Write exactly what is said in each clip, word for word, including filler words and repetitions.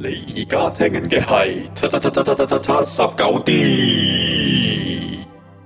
你而家聽緊嘅係七七七七七七七十九 D。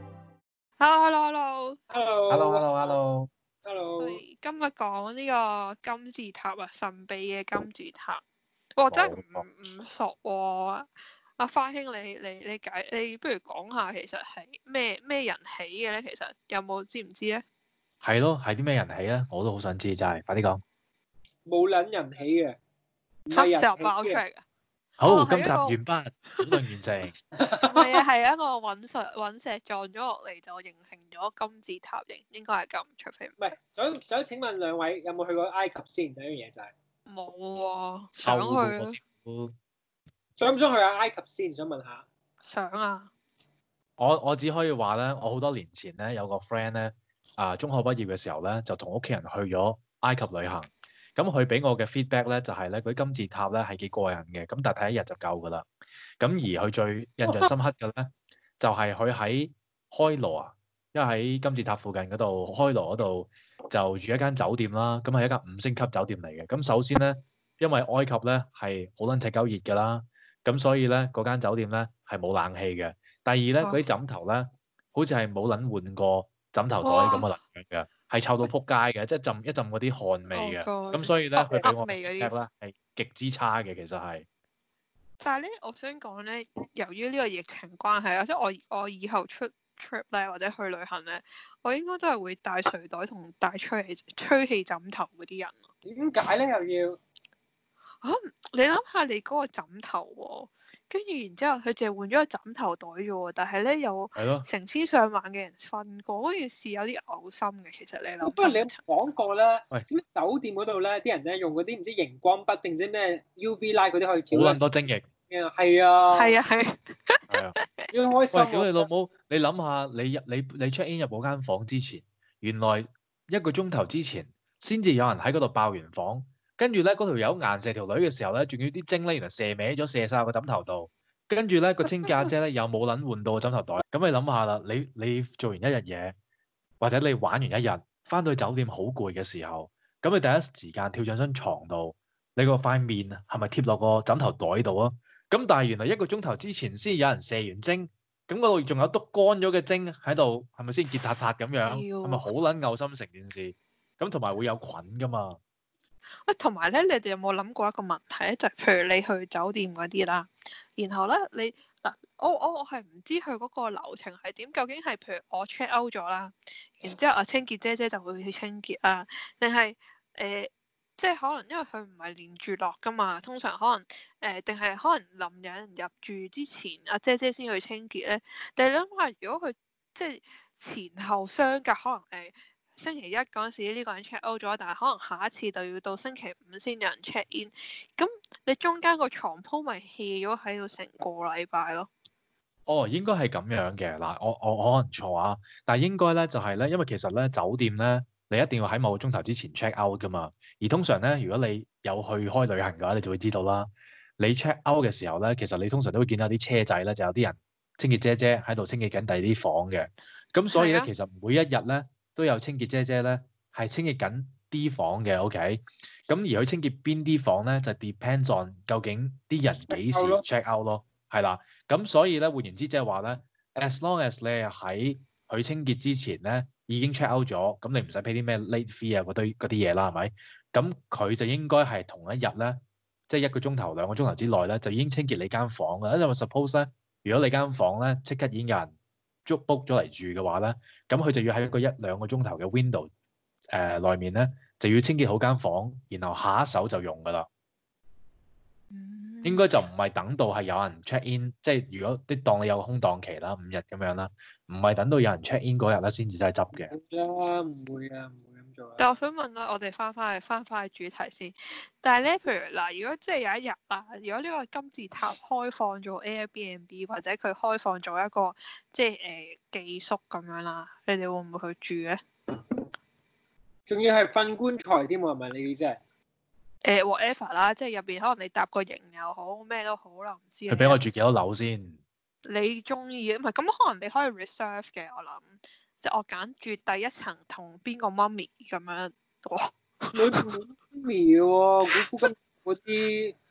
Hello，hello，hello，hello，hello，hello。 我哋今日講呢個金字塔啊，神秘嘅金字塔。我真係唔唔熟喎。阿花兄，你你你解，你不如講下其實係咩咩人起嘅咧？其實有冇知唔知咧？ 係咯，係啲咩人起咧？我都好想知，真係，快啲講。 冇撚人起嘅，唔嚇， 係人時候起嘅。 爆出嚟㗎。 好， 哦今集係一個完畢，討論完成。 唔係啊，係一個隕石隕石撞咗落嚟就形成咗金字塔形，應該係咁，除非唔係，想想請問兩位有冇去過埃及先？第一樣嘢就係冇喎，想去啊， 想唔想去下埃及先？想問下。 想啊。 我我只可以話咧，我好多年前咧有個 friend 咧，啊中學畢業嘅時候咧就同屋企人去咗埃及旅行。咁佢俾我嘅 feedback 咧就係咧，嗰啲金字塔咧係幾過癮嘅，咁但係睇一日就夠㗎啦。咁而佢最印象深刻嘅咧，就係佢喺開羅啊，因為喺金字塔附近嗰度，開羅嗰度就住一間酒店啦。咁係一間五星級酒店嚟嘅。咁首先咧，因為埃及咧係好撚赤鳩熱㗎啦，咁所以咧嗰間酒店咧係冇冷氣嘅。第二咧，嗰啲枕頭咧，好似係冇撚換過枕頭袋咁嘅能量嘅，係臭到撲街嘅，即係浸一浸嗰啲汗味嘅。咁所以咧，佢俾我 feedback 咧係極之差嘅，其實係。 但係咧，我想講咧，由於呢個疫情關係啊，即係我我以後出 trip 咧或者去旅行咧，我應該都係會帶睡袋同帶吹氣吹氣枕頭嗰啲人。 點解咧又要？ 嚇、啊！你諗下你嗰個枕頭喎，跟住然之後佢淨係換咗個枕頭袋啫喎，但係咧有成千上萬嘅人瞓過，嗰件事有啲嘔心嘅。其實你諗， 不過你有講過咧，知唔知酒店嗰度咧啲人咧用嗰啲唔知熒光筆定唔知咩 U V light 嗰啲可以照好撚多精液。 係啊。 係啊係。 係啊。 要開心。 喂，屌你老母！你諗下，你入你你 check in 入嗰間房之前，原來一個鐘頭之前先至有人喺嗰度爆完房。跟住咧，嗰條友硬射條女嘅時候咧，仲要啲精咧，原來射歪咗，射晒個枕頭度。跟住咧，個清潔阿姐咧又冇撚換到個枕頭袋。咁你諗下啦，你你做完一日嘢，或者你玩完一日，翻到去酒店好攰嘅時候，咁你第一時間跳上張床度，你個塊面係咪貼落個枕頭袋度啊？咁但係原來一個鐘頭之前先有人射完精，咁嗰度仲有篤乾咗嘅精喺度，係咪先結塔塔咁樣？係咪好撚嘔心成件事？咁同埋會有菌噶嘛？ 喂，同埋咧，你哋有冇諗過一個問題咧？就係、譬如你去酒店嗰啲啦，然後咧你嗱，我我我係唔知佢嗰個流程係點，究竟係譬如我 check out 咗啦，然之後啊清潔姐姐就會去清潔啊，定係誒即係可能因為佢唔係連住落噶嘛，通常可能誒定係可能臨有人入住之前，阿姐姐先去清潔咧。但係你諗下，如果佢即係前後相隔，可能誒。呃星期一嗰陣時呢個人 check out 咗，但係可能下一次就要到星期五先有人 check in，咁你中間個床鋪咪 hea 咗喺度成個禮拜咯。 哦，應該係咁樣嘅嗱，我我我可能錯啊，但係應該咧就係咧，因為其實咧酒店咧你一定要喺某個鐘頭之前 check out 噶嘛，而通常咧如果你有去開旅行嘅話，你就會知道啦。你 check out 嘅時候咧，其實你通常都會見到啲車仔咧，就有啲人清潔姐姐喺度清潔緊第二啲房嘅，咁所以咧、啊、其實每一日咧。都有清潔姐姐咧，係清潔緊啲房嘅 ，OK。咁而佢清潔邊啲房咧，就 depends on 究竟啲人幾時 check out 咯，係啦。咁所以咧，換言之即係話咧 ，as long as 你係喺佢清潔之前咧已經 check out 咗，咁你唔使 pay 啲咩 late fee 啊嗰堆嗰啲嘢啦，係咪？咁佢就應該係同一日咧，即係一個鐘頭兩個鐘頭之內咧，就已經清潔你間房㗎。因為 suppose 咧，如果你間房咧即刻已經有人捉 book 咗嚟住嘅話咧，咁佢就要喺一個一兩個鐘頭嘅 window 誒、呃、內面咧，就要清潔好間房，然後下一手就用噶啦。嗯、應該就唔係等到係有人 check in，即係如果啲當你有個空檔期啦，五日咁樣啦，唔係等到有人 check in 嗰日咧先至真係執嘅。 唔會啊，唔會咁做啊。 但係我想問啦，我哋翻返去翻返去主題先。但係咧，譬如嗱，如果即係有一日啊，如果呢個金字塔開放咗 Airbnb 或者佢開放咗一個即係誒、呃、寄宿咁樣啦，你哋會唔會去住咧？ 仲要係瞓棺材添喎，係咪你意思係？ 誒 whatever 啦，即係入邊可能你搭個營又好，咩都好啦，唔知。 佢俾我住幾多樓先？ 你中意唔係咁可能你可以 reserve 嘅，我諗。即係我揀住第一層同邊個媽咪咁樣，哇！ 你媽咪喎，古夫金嗰啲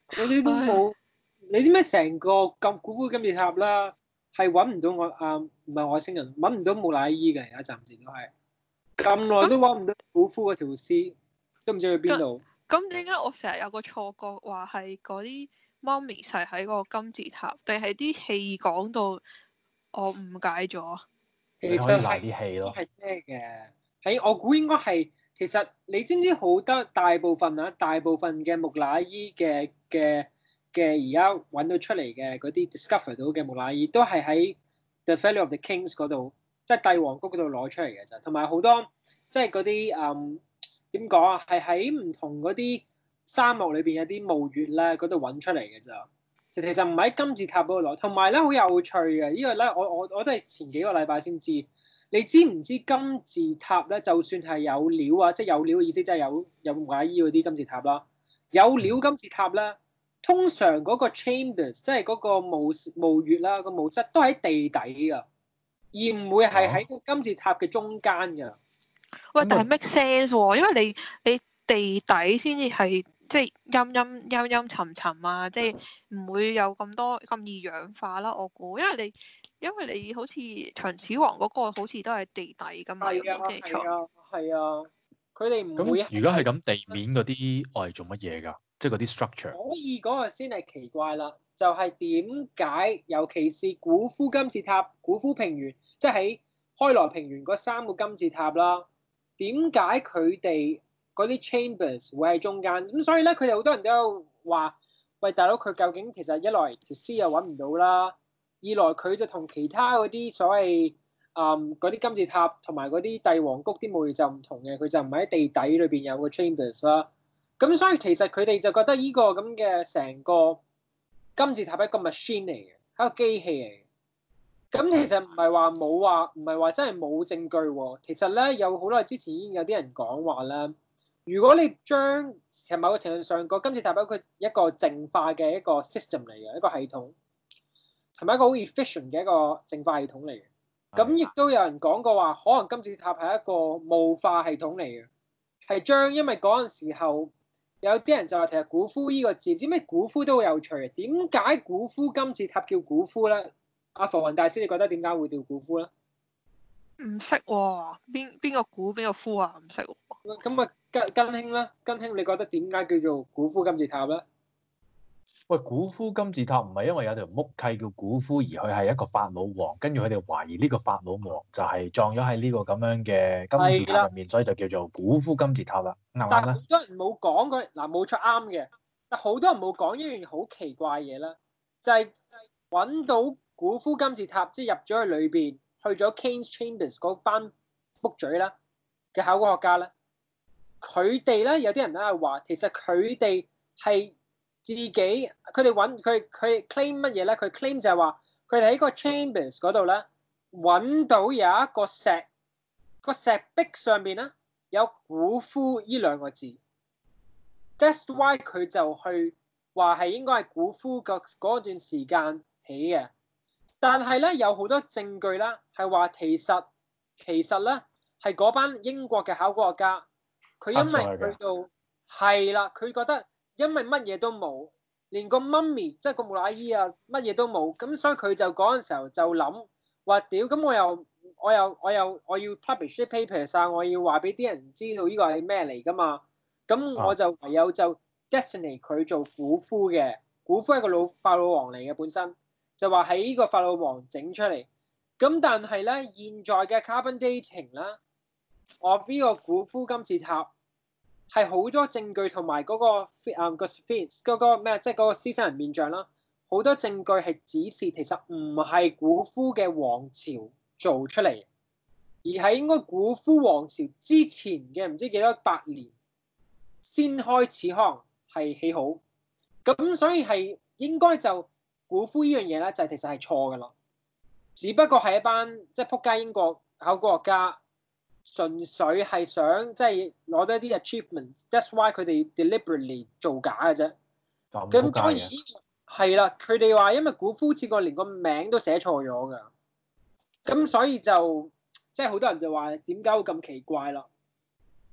嗰啲都冇。你知咩？成個咁古夫金字塔啦，係揾唔到我啊，唔係外星人揾唔到木乃伊嘅，而家暫時都係咁耐都揾唔到古夫嗰條屍，都唔知去邊度。 咁點解我成日有個錯覺話係嗰啲媽咪係喺個金字塔，定係啲戲講到我誤解咗？ 你可以賴啲戲咯。 係咩嘅？喺我估應該係，其實你知唔知好多大部分啊，大部分嘅木乃伊嘅嘅嘅而家揾到出嚟嘅嗰啲 discover 到嘅木乃伊，都係喺 The Valley of the Kings 嗰度，即係帝王谷嗰度攞出嚟嘅咋。同埋好多即係嗰啲誒點講啊，係喺唔同嗰啲沙漠裏邊有啲墓穴咧，嗰度揾出嚟嘅咋。其實唔喺金字塔嗰度攞。同埋咧好有趣嘅，呢個咧我我我都係前幾個禮拜先知。你知唔知金字塔咧，就算係有料啊，即係有料嘅意思，即係有有木乃伊嗰啲金字塔啦，有料金字塔咧，通常嗰個 chambers 即係嗰個墓墓穴啦，個墓室都喺地底㗎，而唔會係喺個金字塔嘅中間㗎。 喂，但係 make sense 喎，因為你你地底先至係即係陰陰陰陰沉沉啊，即係唔會有咁多咁易氧化啦。我估，因為你因為你好似秦始皇嗰個好似都係地底㗎嘛，有冇記錯？ 係啊，係啊，佢哋唔會。 咁如果係咁，地面嗰啲我係做乜嘢㗎？即係嗰啲 structure。 所以嗰個先係奇怪啦，就係點解尤其是古夫金字塔、古夫平原，即係喺開羅平原嗰三個金字塔啦，點解佢哋嗰啲 chambers 會喺中間？咁所以咧，佢哋好多人都有話：喂，大佬，佢究竟其實一來條屍又揾唔到啦，二來佢就同其他嗰啲所謂誒嗰啲金字塔同埋嗰啲帝王谷啲墓穴就唔同嘅，佢就唔喺地底裏邊有個 chambers 啦。咁所以其實佢哋就覺得呢個咁嘅成個金字塔係一個 machine 嚟嘅，係一個機器嚟嘅。咁其實唔係話冇話，唔係話真係冇證據喎。其實咧有好耐之前已經有啲人講話咧，如果你將其實某個程度上個金字塔係佢一個淨化嘅一個 system 嚟嘅，一個系統，同埋一個好 efficient 嘅一個淨化系統嚟嘅。咁亦都有人講過話，可能金字塔係一個霧化系統嚟嘅，係將因為嗰陣時候。有啲人就話其實古夫呢個字，知咩古夫都好有趣嘅。點解古夫金字塔叫古夫咧？阿浮雲大師，你覺得點解會叫古夫咧？ 唔識喎，邊邊個古邊個夫啊？唔識喎。 咁啊，根根兄咧，根兄你覺得點解叫做古夫金字塔咧？ 喂，古夫金字塔唔係因為有條木契叫古夫，而佢係一個法老王，跟住佢哋懷疑呢個法老王就係葬咗喺呢個咁樣嘅金字塔入面，所以就叫做古夫金字塔啦。啱唔啱咧？但係好多人冇講佢嗱，冇錯啱嘅。但好多人冇講一樣好奇怪嘢啦，就係、是、揾到古夫金字塔，即係入咗去裏邊，去咗 King's Chambers 嗰班木嘴啦嘅考古學家咧，佢哋咧有啲人咧係話，其實佢哋係。自己佢哋揾佢佢 claim 乜嘢咧？佢 claim 就係話佢哋喺個 chambers 嗰度咧揾到有一個石個石壁上面咧有古夫呢兩個字。That's why 佢就去話係應該係古夫個嗰段時間起嘅。但係咧有好多證據啦，係話其實其實咧係嗰班英國嘅考古學家，佢因為去到係啦，佢覺得。因為乜嘢都冇，連個 mummy 即係個木乃伊啊，乜嘢都冇，咁所以佢就嗰陣時候就諗話屌，咁我又我又我又我要 publish 啲 papers 啊，我要話俾啲人知道呢個係咩嚟㗎嘛，咁我就唯有就 destiny 佢做古夫嘅，古夫係個老法老王嚟嘅本身，就話喺呢個法老王整出嚟，咁但係咧現在嘅 carbon dating 啦，我呢個古夫金字塔。係好多證據同埋嗰個誒個 sphinx 嗰個咩，即係嗰個獅身人面像啦，好多證據係指示其實唔係古夫嘅王朝做出嚟，而係應該古夫王朝之前嘅唔知幾多百年先開始可能係起好，咁所以係應該就古夫呢樣嘢咧就係其實係錯㗎啦，只不過係一班即係仆街英國考古學家。純粹係想即係攞到一啲 achievement，that's why 佢哋 deliberately 造假嘅啫。咁當然係啦，佢哋話因為古夫似個連個名都寫錯咗㗎，咁所以就即係好多人就話點解會咁奇怪啦？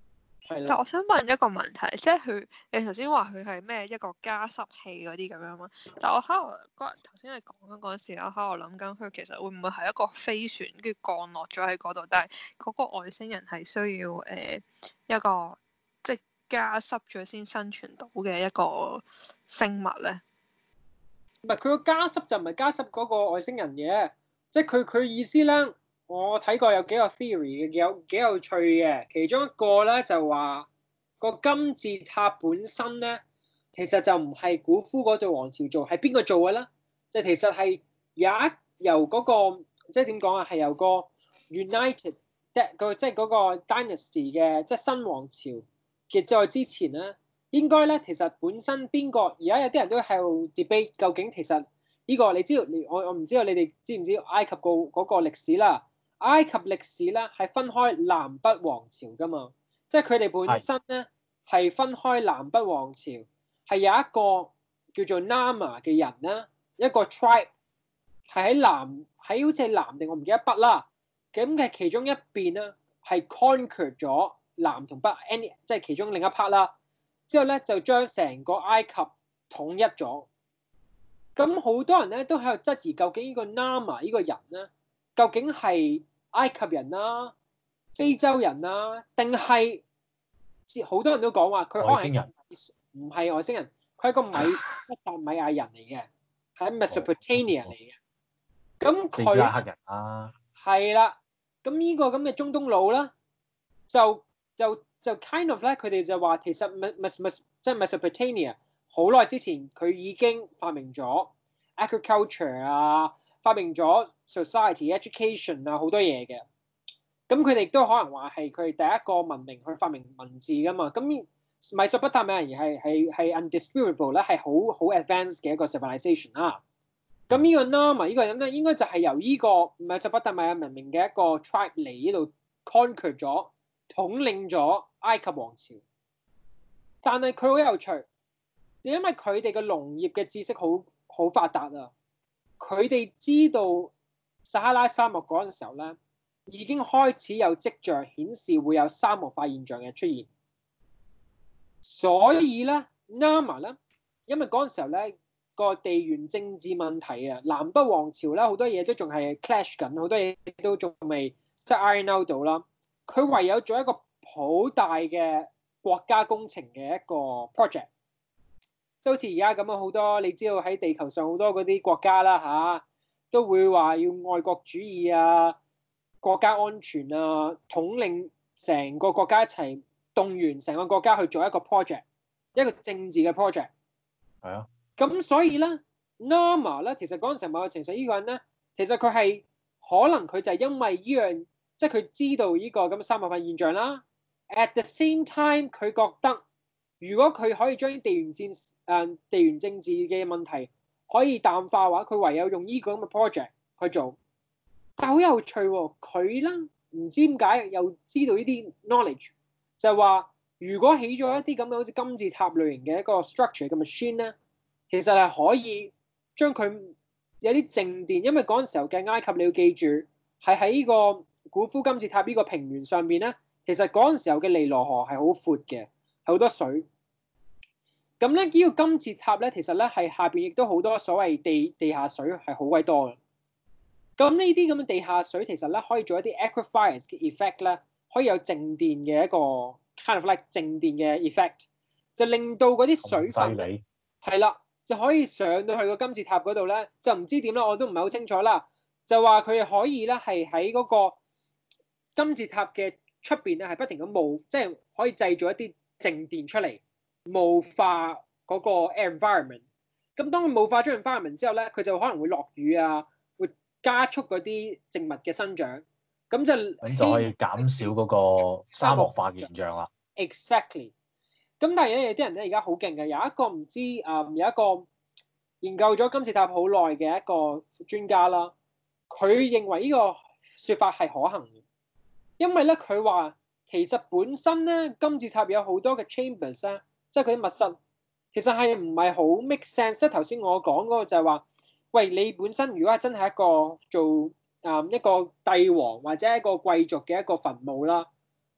係啦。 但我想問一個問題，即係佢你頭先話佢係咩一個加濕器嗰啲咁樣嘛？但我喺度嗰日頭先你講緊嗰陣時，我喺度諗緊佢其實會唔會係一個飛船跟住降落咗喺嗰度，但係嗰個外星人係需要誒、呃、一個即係加濕咗先生存到嘅一個生物咧？ 唔係佢個加濕就唔係加濕嗰個外星人嘅，即係佢佢意思咧。我睇過有幾個 theory 嘅，有幾有趣嘅。其中一個咧就話個金字塔本身咧，其實就唔係古夫嗰對王朝做，係邊個做嘅咧？即係其實係有一由嗰個即係點講啊？係由個 United 個即係嗰個 dynasty 嘅即係新王朝嘅再之前咧，應該咧其實本身邊個而家有啲人都喺度 debate 究竟其實呢個你知道你我我唔知道你哋知唔知埃及個嗰個歷史啦？埃及歷史咧係分開南北王朝噶嘛，即係佢哋本身咧係分開南北王朝，係有一個叫做 Nama 嘅人啦，一個 tribe 係喺南喺好似係南定我唔記得北啦，咁嘅其中一邊咧係 conquer 咗南同北 any 即係其中另一 part 啦，之後咧就將成個埃及統一咗。咁好多人咧都喺度質疑究竟呢個 Nama 呢個人咧究竟係埃及人啦、啊、非洲人啦、啊，定係好多人都講話佢可能係唔係外星人，佢係個米達米亞人嚟嘅，喺 Mesopotamia 嚟嘅。咁佢係黑人啊， 係啦。咁呢個咁嘅中東佬啦，就就就 kind of 咧，佢哋就話其實 Mes 即係 Mesopotamia 好耐之前佢已經發明咗 agriculture 啊。發明咗 society education 啊好多嘢嘅，咁佢哋都可能話係佢哋第一個文明去發明文字噶嘛，咁米索不達米亞人係係係 undisputable 咧，係好好 advanced 嘅一個 civilization 啦。咁呢個 Nama 呢個人咧，應該就係由呢個米索不達米亞文明嘅一個 tribe 嚟呢度 conquer 咗統領咗埃及王朝，但係佢好有趣，就因為佢哋嘅農業嘅知識好好發達啊。佢哋知道撒哈拉沙漠嗰陣時候咧，已經開始有跡象顯示會有沙漠化現象嘅出現，所以咧 Nama 咧，因為嗰陣時候咧個地緣政治問題啊，南北王朝咧好多嘢都仲係 clash 緊，好多嘢都仲未即係 iron out 到啦。佢唯有做一個好大嘅國家工程嘅一個 project。即好似而家咁樣好多，你知道喺地球上好多嗰啲國家啦嚇、啊，都會話要愛國主義啊、國家安全啊，統領成個國家一齊動員成個國家去做一個 project， 一個政治嘅 project。 係啊。 咁所以咧 Nama 咧，其實嗰陣時某個情緒呢個人咧，其實佢係可能佢就係因為呢樣，即係佢知道呢個咁嘅沙漠化現象啦。At the same time，佢覺得如果佢可以將啲地緣戰誒、呃、地緣政治嘅問題可以淡化嘅話，佢唯有用呢個咁嘅 project 去做。但係好有趣喎、哦，佢咧唔知點解又知道呢啲 knowledge，就係話如果起咗一啲咁嘅好似金字塔類型嘅一個 structure 嘅 machine 咧，其實係可以將佢有啲靜電，因為嗰陣時候嘅埃及你要記住係喺呢個古夫金字塔呢個平原上面咧，其實嗰陣時候嘅尼羅河係好闊嘅，係好多水。咁咧呢個金字塔咧，其實咧係下邊亦都好多所謂地地下水係好鬼多嘅。咁呢啲咁嘅地下水其實咧可以做一啲 aquifers 嘅 effect 咧，可以有靜電嘅一個 kind of like 靜電嘅 effect， 就令到嗰啲水分係啦，就可以上到去個金字塔嗰度咧，就唔知點啦，我都唔係好清楚啦。就話佢哋可以咧係喺嗰個金字塔嘅出邊咧係不停咁霧，即係可以製造一啲靜電出嚟。霧化嗰個 environment， 咁當佢霧化咗 environment 之後咧，佢就可能會落雨啊，會加速嗰啲植物嘅生長，咁就咁就可以減少嗰個沙漠化現象啦。 Exactly。咁但係咧有啲人咧而家好勁嘅，有一個唔知誒、嗯、有一個研究咗金字塔好耐嘅一個專家啦，佢認為呢個説法係可行嘅，因為咧佢話其實本身咧金字塔有好多嘅 chambers 咧。即係佢啲密室，其實係唔係好 make sense？即係頭先我講嗰個就係話，喂，你本身如果係真係一個做啊、嗯、一個帝王或者一個貴族嘅一個墳墓啦，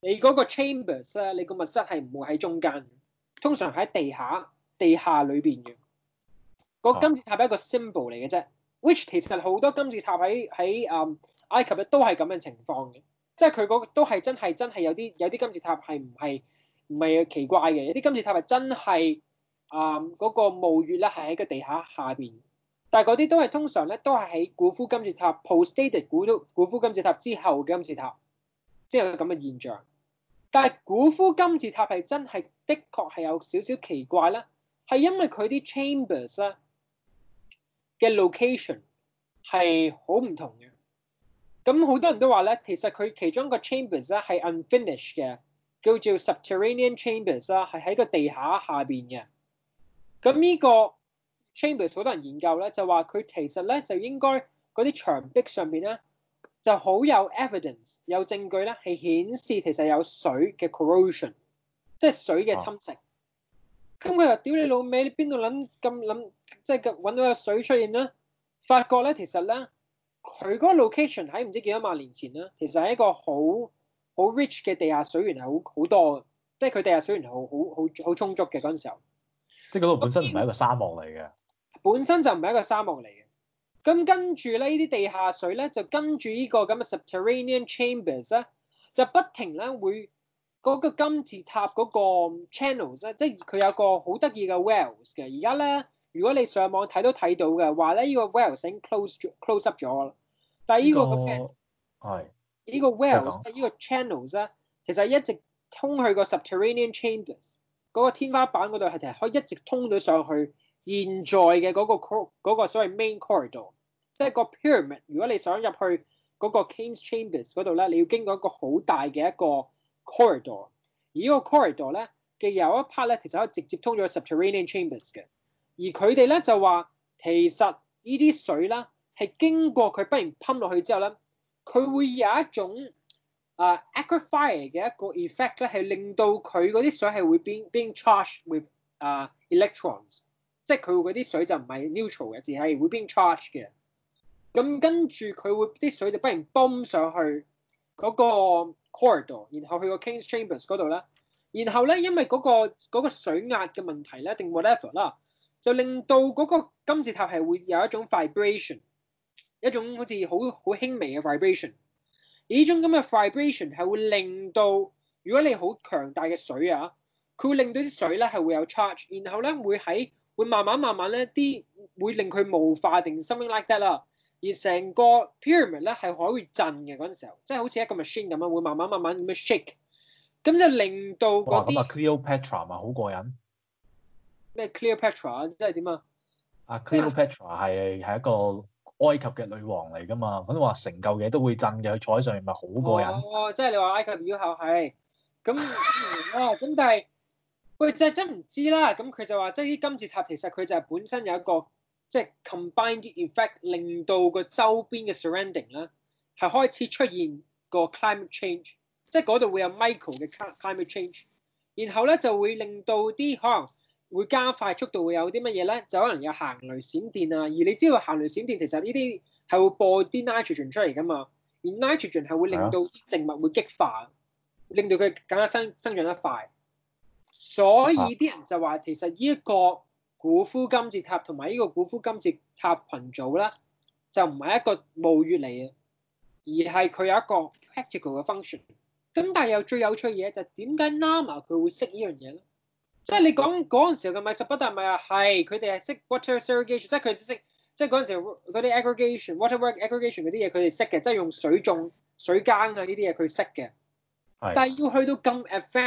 你嗰個 chambers 咧，你個密室係唔會喺中間，通常喺地下、地下裏邊嘅。個金字塔係一個 symbol 嚟嘅啫 ，which 其實好多金字塔喺喺誒埃及咧都係咁嘅情況嘅，即係佢嗰都係真係真係有啲有啲金字塔係唔係唔係奇怪嘅，有啲金字塔係真係誒嗰個墓穴咧係喺個地下下邊，但係嗰啲都係通常咧都係喺古夫金字塔 post-dated 古都古夫金字塔之後嘅金字塔，即係有咁嘅現象。但係古夫金字塔係真係的確係有少少奇怪啦，係因為佢啲 chambers 咧嘅 location 係好唔同嘅。咁好多人都話咧，其實佢其中一個 chambers 咧係 unfinished 嘅，叫做 subterranean chambers 啦，係喺個地下下邊嘅。咁呢個 chambers 好多人研究咧，就話佢其實咧就應該嗰啲牆壁上邊咧就好有 evidence 有證據咧係顯示其實有水嘅 corrosion， 即係水嘅侵蝕。咁佢又屌你老味，你邊度諗咁諗，即係揾到有水出現咧？發覺咧其實咧佢嗰個 location 喺唔知幾多萬年前咧，其實係一個好好 rich 嘅地下水源係好好多嘅，即係佢地下水源係好好好好充足嘅嗰陣時候。 即係嗰度本身唔係一個沙漠嚟嘅， 本身就唔係一個沙漠嚟嘅。咁跟住咧，呢啲地下水咧就跟住呢個咁嘅 subterranean chambers 咧，就不停咧會嗰個金字塔嗰個 channels 咧，即係佢有個好得意嘅 wells 嘅。而家咧，如果你上網睇都睇到嘅話咧，呢個 wells 已經 close close up 咗啦。但係呢個咁嘅係呢個 wells 呢個 channels 咧，其實一直通去個 subterranean chambers 嗰個天花板嗰度係其實可以一直通到上去現在嘅嗰個 cor 嗰個所謂 main corridor， 即係個 pyramid。如果你想入去嗰個 King's Chambers 嗰度咧，你要經過一個好大嘅一個 corridor， 而呢個 corridor 咧嘅有一 part 咧，其實可以直接通咗 subterranean chambers 嘅。而佢哋咧就話，其實呢啲水啦係經過佢不然噴落去之後咧，佢會有一種啊、uh, aquifer 嘅一個 effect 咧，係令到佢嗰啲水係會 being being charged with 啊、uh, electrons， 即係佢嗰啲水就唔係 neutral 嘅，只係會 being charged 嘅。咁跟住佢會啲水就不然泵上去嗰個 corridor， 然後去個 King's Chambers 嗰度咧，然後咧因為嗰、嗰個嗰個水壓嘅問題咧，定 whatever 啦，就令到嗰個金字塔係會有一種 vibration， 一種好似好好輕微嘅 vibration。而呢種咁嘅 vibration 係會令到，如果你好強大嘅水啊，佢會令到啲水咧係會有 charge， 然後咧會喺會慢慢慢慢咧啲會令佢霧化定 something like that 啦。而成個 pyramid 咧係可以震嘅嗰陣時候，即係好似一個 machine 咁樣，會慢慢慢慢咁樣 shake， 咁就令到嗰啲。 哇！咁啊 Cleopatra 咪好過癮。 咩 Cleopatra 即係點啊？ 啊 Cleopatra 係係一個埃及嘅女王嚟㗎嘛，咁話成嚿嘢都會震嘅，佢坐喺上面咪好過癮。 哦，即係你話埃及妖后係，咁啊咁但係，喂就真唔知啦。咁佢就話，即係啲金字塔其實佢就係本身有一個即係 combined effect，令到個周邊嘅 surrounding 咧係開始出現個 climate change， 即係嗰度會有 micro 嘅 climate change， 然後咧就會令到啲可能會加快速度，會有啲乜嘢咧？就可能有行雷閃電啊！而你知道行雷閃電其實呢啲係會播啲 nitrogen 出嚟㗎嘛，而 nitrogen 係會令到啲植物會激化，令到佢更加生生長得快。所以啲人就話其實呢一個古夫金字塔同埋呢個古夫金字塔群組咧，就唔係一個墓穴嚟嘅，而係佢有一個 practical 嘅 function。咁但係又最有趣嘅嘢就係點解 Nama 佢會識呢樣嘢咧？即係你講嗰陣時候嘅米索不達米啊，係佢哋係識 water segregation， 即係佢哋識，即係嗰陣時嗰啲 aggregation、water work aggregation 嗰啲嘢，佢哋識嘅，即係用水種、水耕啊呢啲嘢佢識嘅。但係要去到咁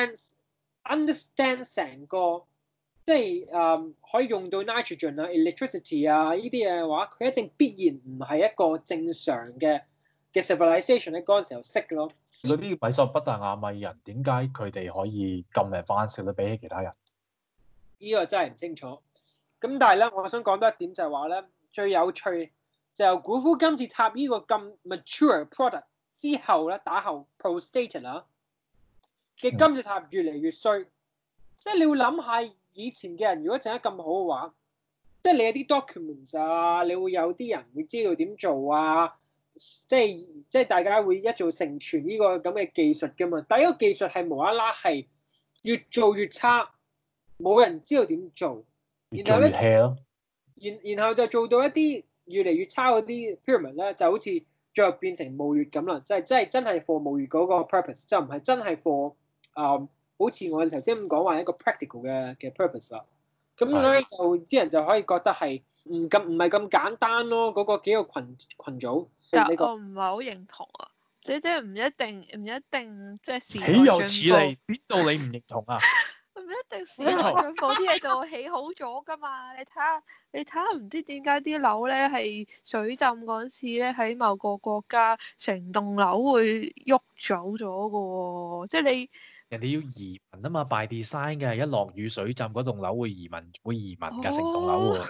advanced，understand 成個，即係誒、um, 可以用到 nitrogen 啊、electricity 啊呢啲嘢嘅話，佢一定必然唔係一個正常嘅嘅 civilization 喺嗰陣時候識咯。 嗰啲米索不達雅米人點解佢哋可以咁 advanced 咧？比起其他人？ 呢個真係唔清楚。咁但係咧，我想講多一點就係話咧，最有趣就由古夫金字塔呢個咁 mature product 之後咧，打後 post-dated 啦嘅金字塔越嚟越衰。嗯、即係你會諗下以前嘅人如果整得咁好嘅話，即係你有啲 documents 啊，你會有啲人會知道點做啊， 即係即係大家會一做成傳呢個咁嘅技術㗎嘛。第一個技術係無啦啦係越做越差，冇人知道點做，然後咧，然然後就做到一啲越嚟越差嗰啲 pyramid 咧，就好似最後變成墓穴咁啦，即係即係真係 for 墓穴嗰個 purpose，就唔係真係 for 誒，好似我哋頭先咁講話一個 practical 嘅嘅 purpose 啦。咁所以就啲人就可以覺得係唔咁唔係咁簡單咯，嗰、那個幾個群群組。 但這個、 我唔係好認同啊，即即係唔一定唔一定即係時代豈有此進步理？邊度你唔認同啊？ 唔一定時代進步啲嘢就會起好咗㗎嘛？你睇下你睇下唔知點解啲樓咧係水浸嗰陣時咧喺某個國家成棟樓會喐走咗㗎喎，即係你。 人哋要移民啊嘛 ，by design 嘅，一落雨水浸嗰棟樓會移民，會移民㗎，成棟樓會。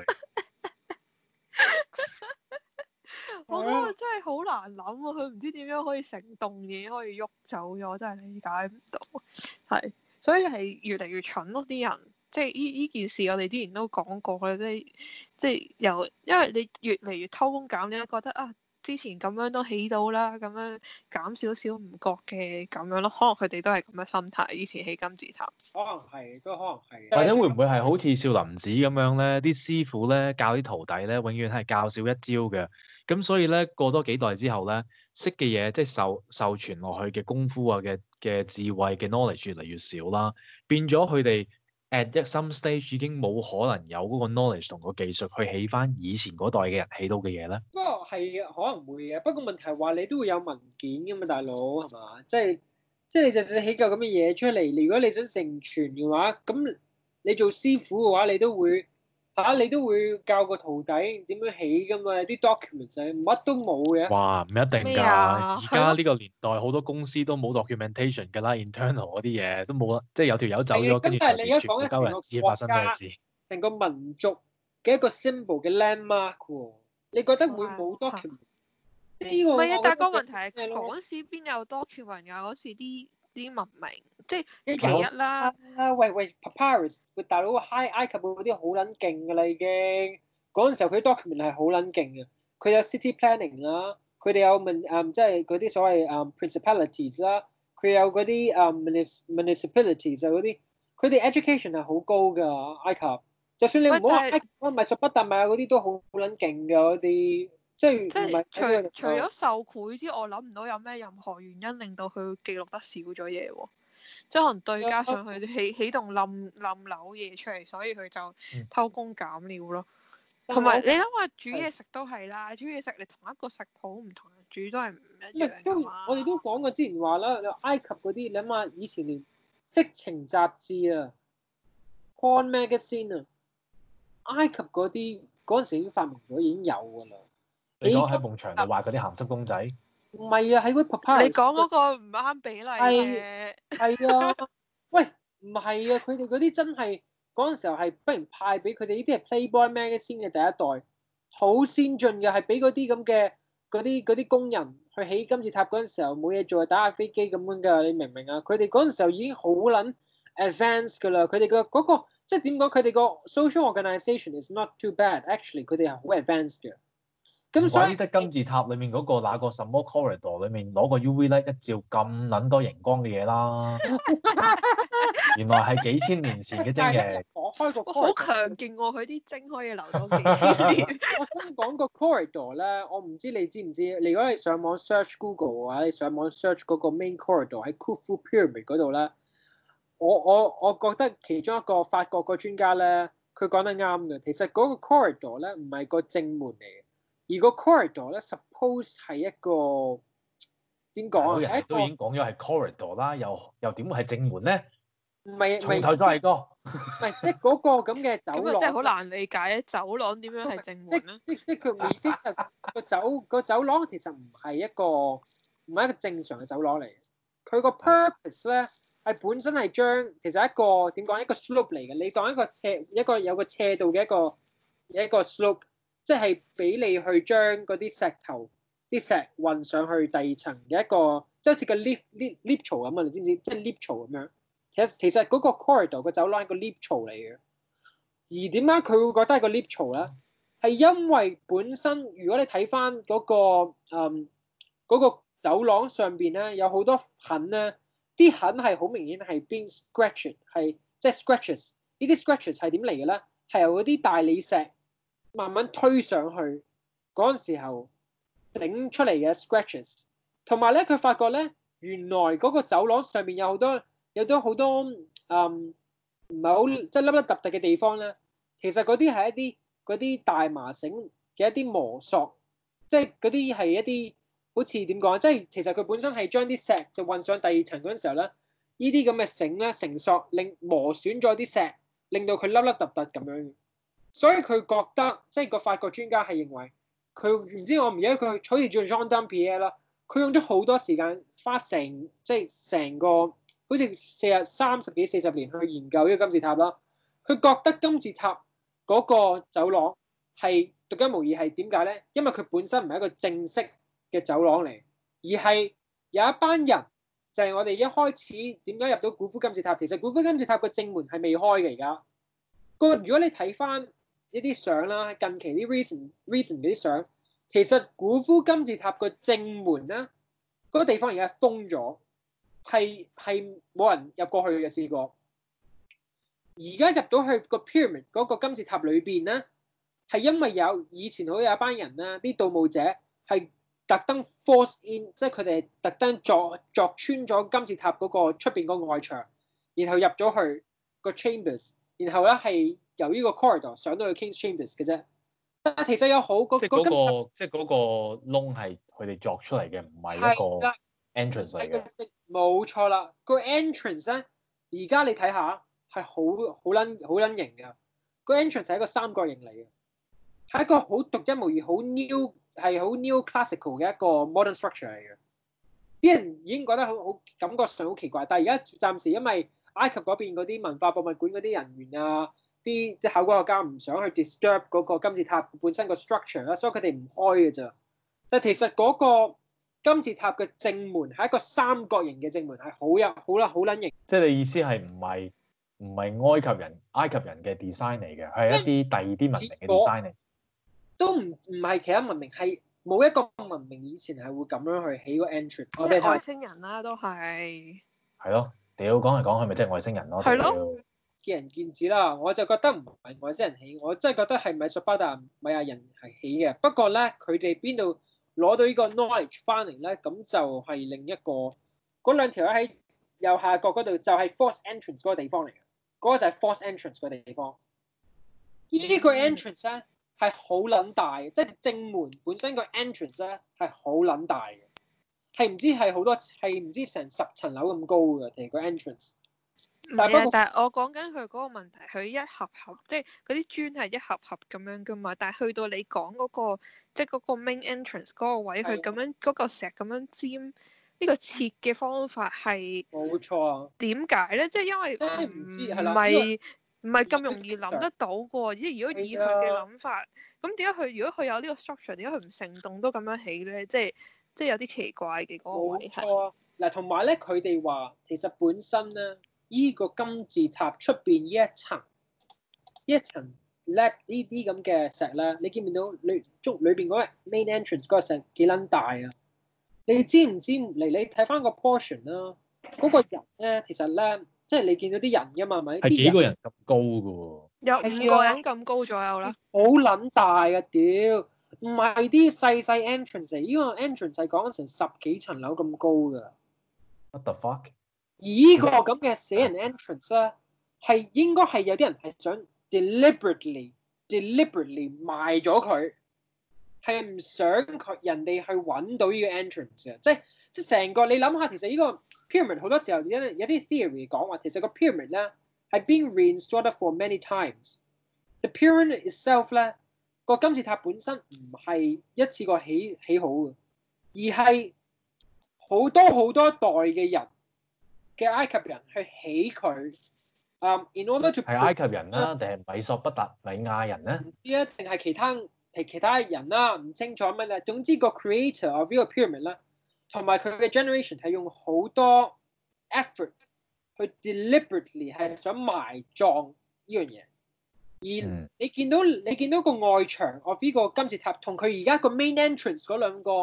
我覺得真係好難諗啊！佢唔知點樣可以成棟嘢可以喐走咗，真係理解唔到。係，所以係越嚟越蠢咯，啲人。即係依依件事，我哋之前都講過嘅，即係即係由因為你越嚟越偷工減料，覺得啊。之前咁樣都起到啦，咁樣減少少唔覺嘅咁樣咯，可能佢哋都係咁嘅心態。以前起金字塔， 可能係，都可能係。 或者會唔會係好似少林寺咁樣咧？啲師傅咧教啲徒弟咧，永遠係教少一招嘅。咁所以咧過多幾代之後咧，識嘅嘢即係受受傳落去嘅功夫啊嘅嘅智慧嘅 knowledge 越嚟越少啦，變咗佢哋。at some stage 已經冇可能有嗰個 knowledge 同個技術去起翻以前嗰代嘅人起到嘅嘢咧。不過係可能會嘅，不過問題係話你都會有文件噶嘛，大佬係嘛？即係即係你就算起嚿咁嘅嘢出嚟，如果你想成傳嘅話，咁你做師傅嘅話，你都會嚇、啊、你都會教個徒弟點樣起噶嘛？啲 documents 乜都冇嘅。 哇，唔一定㗎，而家呢個年代好多公司都冇 documentation 㗎啦 internal 嗰啲嘢都冇啦，即係有條友走咗，跟住就完全冇鳩人知發生咩事。成個民族嘅一個 symbol 嘅 landmark 喎，你覺得會冇 document？呢個唔係啊，但係個問題係嗰時邊有 document 㗎？嗰時啲啲文明即係其一啦。 啊喂喂 ，Papyrus 大佬 High 埃及嗰啲好撚勁㗎啦已經。嗰陣時候佢 document 係好撚勁嘅，佢有 city planning 啦，佢哋有問誒即係嗰啲所謂誒、um, principalities 啦，佢有嗰啲誒 municipalities 啊嗰啲，佢哋 education 係好高㗎埃及。就算你唔好話埃及米索不達米亞嗰啲都好撚勁㗎嗰啲，即係即係除除咗受賄之外，我諗唔到有咩任何原因令到佢記錄得少咗嘢喎。即係可能對加上佢起起棟冧冧樓嘢出嚟，所以佢就偷工減料咯。同埋、嗯、你諗下煮嘢食都係啦，煮嘢食你同一個食譜唔同人煮都係唔一樣㗎嘛。 我哋都講過之前話啦，埃及嗰啲你諗下以前連色情雜誌啊 porn magazine 啊。埃及嗰啲嗰陣時已經發明咗，已經有㗎啦。 你講喺埲牆度畫嗰啲鹹濕公仔？ 唔係啊，喺嗰 Papyrus。你講嗰個唔啱比例嘅。 係啊，喂，唔係啊，佢哋嗰啲真係嗰陣時候係不如派俾佢哋呢啲係 Playboy Magazine 嘅第一代，好先進嘅，係俾嗰啲咁嘅嗰啲嗰啲工人去起金字塔嗰陣時候冇嘢做，打下飛機咁樣㗎，你明唔明啊？佢哋嗰陣時候已經好撚 advanced 㗎啦，佢哋嘅嗰個。即係點講？佢哋個 social organisation is not too bad，actually 佢哋係好 advanced 嘅。咁所以得金字塔裡面嗰、嗰個那個什麼 corridor 裡面攞個 U V light 一照咁撚多熒光嘅嘢啦。原來係幾千年前嘅精嘅。 我開個好強勁喎！佢啲精可以留到幾千年。 我想講個 corridor 咧，我唔知你知唔知？你如果你上網 search Google 嘅話，你上網 search 嗰個 main corridor 喺 Khufu Pyramid 嗰度咧。我我我覺得其中一個法國個專家咧，佢講得啱嘅。其實嗰個 corridor 咧唔係個正門嚟嘅，而個 corridor 咧 suppose 係一個點講啊？ 人哋都已經講咗係 corridor 啦，又又點會係正門咧？ 唔係， 從頭再嚟過。 唔係，即係嗰個咁嘅走廊。 咁真係好難理解啊！走廊點樣係正門咧？ 即即佢意思係個走個走廊其實唔係一個唔係一個正常嘅走廊嚟嘅。佢個 purpose 咧係本身係將其實一個點講一個 slope 嚟嘅，你當一個斜一個有個斜度嘅一個一個 slope，即係俾你去將嗰啲石頭啲石運上去第二層嘅一個，即係好似個 lift lift lift 槽咁啊！你知唔知？即係 lift 槽咁樣。其實其實嗰個 corridor 個走廊係個 lift 槽嚟嘅。而點解佢會覺得係個 lift 槽咧？係因為本身如果你睇翻嗰個嗯嗰個走廊上邊咧有好多痕咧，啲痕係好明顯係 being scratched， 係即係 scratches。呢啲 scratches 係點嚟嘅咧？係由嗰啲大理石慢慢推上去嗰陣時候整出嚟嘅 scratches。同埋咧，佢發覺咧，原來嗰個走廊上面有好多有咗好多嗯唔係好即係凹凹凸凸嘅地方咧。其實嗰啲係一啲嗰啲大麻繩嘅一啲磨索，即係嗰啲係一啲好似點講？即係其實佢本身係將啲石就運上第二層嗰陣時候咧，呢啲咁嘅繩咧繩索令磨損咗啲石，令到佢凹凹凸凸咁樣。所以佢覺得即係個法國專家係認為佢唔知我唔記得佢好似叫 Jean Dampierre 啦。佢用咗好多時間，花成即係成個好似四十三十幾四十年去研究呢個金字塔啦。佢覺得金字塔嗰個走廊係獨一無二，係點解咧？因為佢本身唔係一個正式嘅走廊嚟，而係有一班人就係我哋一開始點解入到古夫金字塔。其實古夫金字塔個正門係未開嘅而家。個如果你睇翻呢啲相啦，近期啲 recent recent 嗰啲相。其實古夫金字塔個正門咧，嗰、那個地方而家封咗，係係冇人入過去嘅試過。而家入到去個 pyramid 嗰個金字塔裏邊咧，係因為有以前好有一班人啦，啲盜墓者係特登 force in，即係佢哋特登鑿鑿穿咗金字塔嗰個出邊個外牆，然後入咗去個 chambers，然後咧係由呢個 corridor 上到去 King's Chambers 嘅啫。但係其實有好個即係嗰個即係嗰個窿係佢哋鑿出嚟嘅，唔係一個 entrance 嚟嘅。 冇錯啦，個 entrance 咧，而家你睇下係好好撚好撚型㗎。個 entrance 係一個三角形嚟嘅，係一個好獨一無二、好 new 係好 new classical 嘅一個 modern structure 嚟嘅。啲人已經覺得好好感覺上好奇怪，但係而家暫時因為埃及嗰邊嗰啲文化博物館嗰啲人員啊，啲即係考古學家唔想去 disturb 嗰個金字塔本身個 structure 啦，所以佢哋唔開嘅咋。但係其實嗰個金字塔嘅正門係一個三角形嘅正門，係好有好啦好撚型。 即係你意思係唔係唔係埃及人埃及人嘅 design 嚟嘅，係一啲第二啲文明嘅 design 嚟。 都唔唔係其他文明，係冇一個文明以前係會咁樣去起個 entrance。我哋外星人啦、啊，都係。 係咯，屌講嚟講去咪即係外星人咯。 係咯。 見仁見智啦，我就覺得唔係外星人起，我真係覺得係米索巴達米亞人係起嘅。不過咧，佢哋邊度攞到呢個 knowledge 翻嚟咧？咁就係另一個嗰兩條喺右下角嗰度，就係 force entrance 嗰個地方嚟嘅。嗰、嗰個就係 force entrance 個地方。呢、呢個 entrance 咧係好撚大嘅，即係正門本身個 entrance 咧係好撚大嘅，係唔知係好多係唔知成十層樓咁高嘅，其實個 entrance。 唔係啊，但係我講緊佢嗰個問題，佢一盒盒，即係嗰啲磚係一盒盒咁樣噶嘛。但係去到你講嗰個，即係嗰個 main entrance 嗰個位，佢咁樣嗰嚿石咁樣尖，呢個設嘅方法係冇錯啊。 點解咧？即係因為唔知係唔係唔係咁容易諗得到嘅喎。即係如果以佢嘅諗法，咁點解佢如果佢有呢個 structure，點解佢唔成棟都咁樣起咧？即係即係有啲奇怪嘅嗰個位係。冇錯啊。 嗱，同埋咧，佢哋話其實本身咧。依個金字塔出邊呢一層，一層叻呢啲咁嘅石咧，你見唔見到裏中裏邊嗰個 main entrance 嗰個石幾撚大啊？你知唔知嚟？你睇翻個 portion 啦，嗰個人咧，其實咧，即係你見到啲人㗎嘛，咪係幾個人咁高㗎喎？ 有五個人咁高左右啦。 好撚大啊！屌，唔係啲細細 entrance，依個 entrance 係講緊成十幾層樓咁高㗎。 What the fuck？ 而呢個咁嘅死人 entrance 咧，係應該係有啲人係想 deliberately deliberately 賣咗佢，係唔想佢人哋去揾到呢個 entrance 嘅。即係即係成個你諗下，其實呢個 pyramid 好多時候有有啲 theory 講話，其實個 pyramid 咧係 being reinstalled for many times。The pyramid itself 咧，個金字塔本身唔係一次過起起好嘅，而係好多好多代嘅人嘅埃及人去起佢，啊、um,，in order to 係埃及人啦、啊，定係米索不達米亞人咧？ 唔知啊，定係其他其其他人啦、啊，唔清楚乜咧。總之個 creator of 呢個 pyramid 咧，同埋佢嘅 generation 係用好多 effort 去 deliberately 係想埋葬呢樣嘢。而你見到你見到個外牆 of 呢個金字塔同佢而家個 main entrance 嗰兩個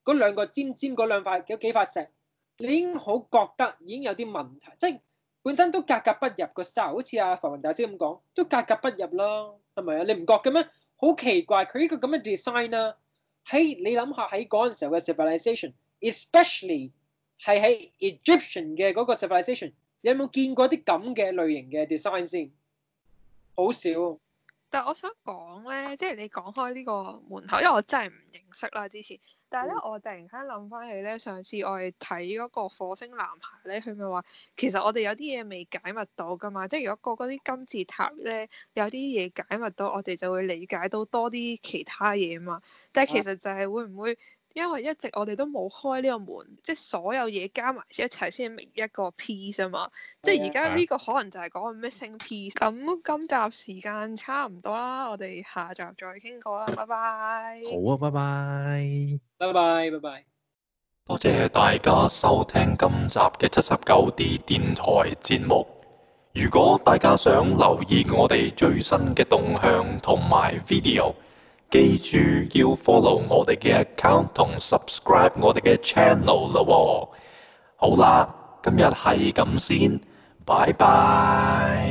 嗰兩個尖尖嗰兩塊嗰幾塊石，你已經好覺得已經有啲問題，即係本身都格格不入個 style，好似阿浮雲大師咁講，都格格不入啦，係咪啊？你唔覺嘅咩？好奇怪，佢呢個咁嘅 design 啦，喺你諗下喺嗰陣時候嘅 civilization，especially 係喺 Egyptian 嘅嗰個 civilization，你有冇見過啲咁嘅類型嘅 design 先？好少。 但係我想講咧，即係你講開呢個門口，因為我真係唔認識啦之前。但係咧，我突然間諗翻起咧，上次我哋睇嗰個火星男孩咧，佢咪話其實我哋有啲嘢未解密到㗎嘛。即係如果個嗰啲金字塔咧有啲嘢解密到，我哋就會理解到多啲其他嘢嘛。但係其實就係會唔會？因為一直我哋都冇開呢個門，即係所有嘢加埋一齊先係一個 piece 啊嘛。即係而家呢個可能就係講個 missing piece。咁今集時間差唔多啦，我哋下集再傾過啦，拜拜。 好啊，拜拜。 拜拜，拜拜。 多謝大家收聽今集嘅七十九 D 電台節目。如果大家想留意我哋最新嘅動向同埋 video，記住要 follow 我哋嘅 account 同 subscribe 我哋嘅 channel 啦喎。好啦，今日係咁先，拜拜。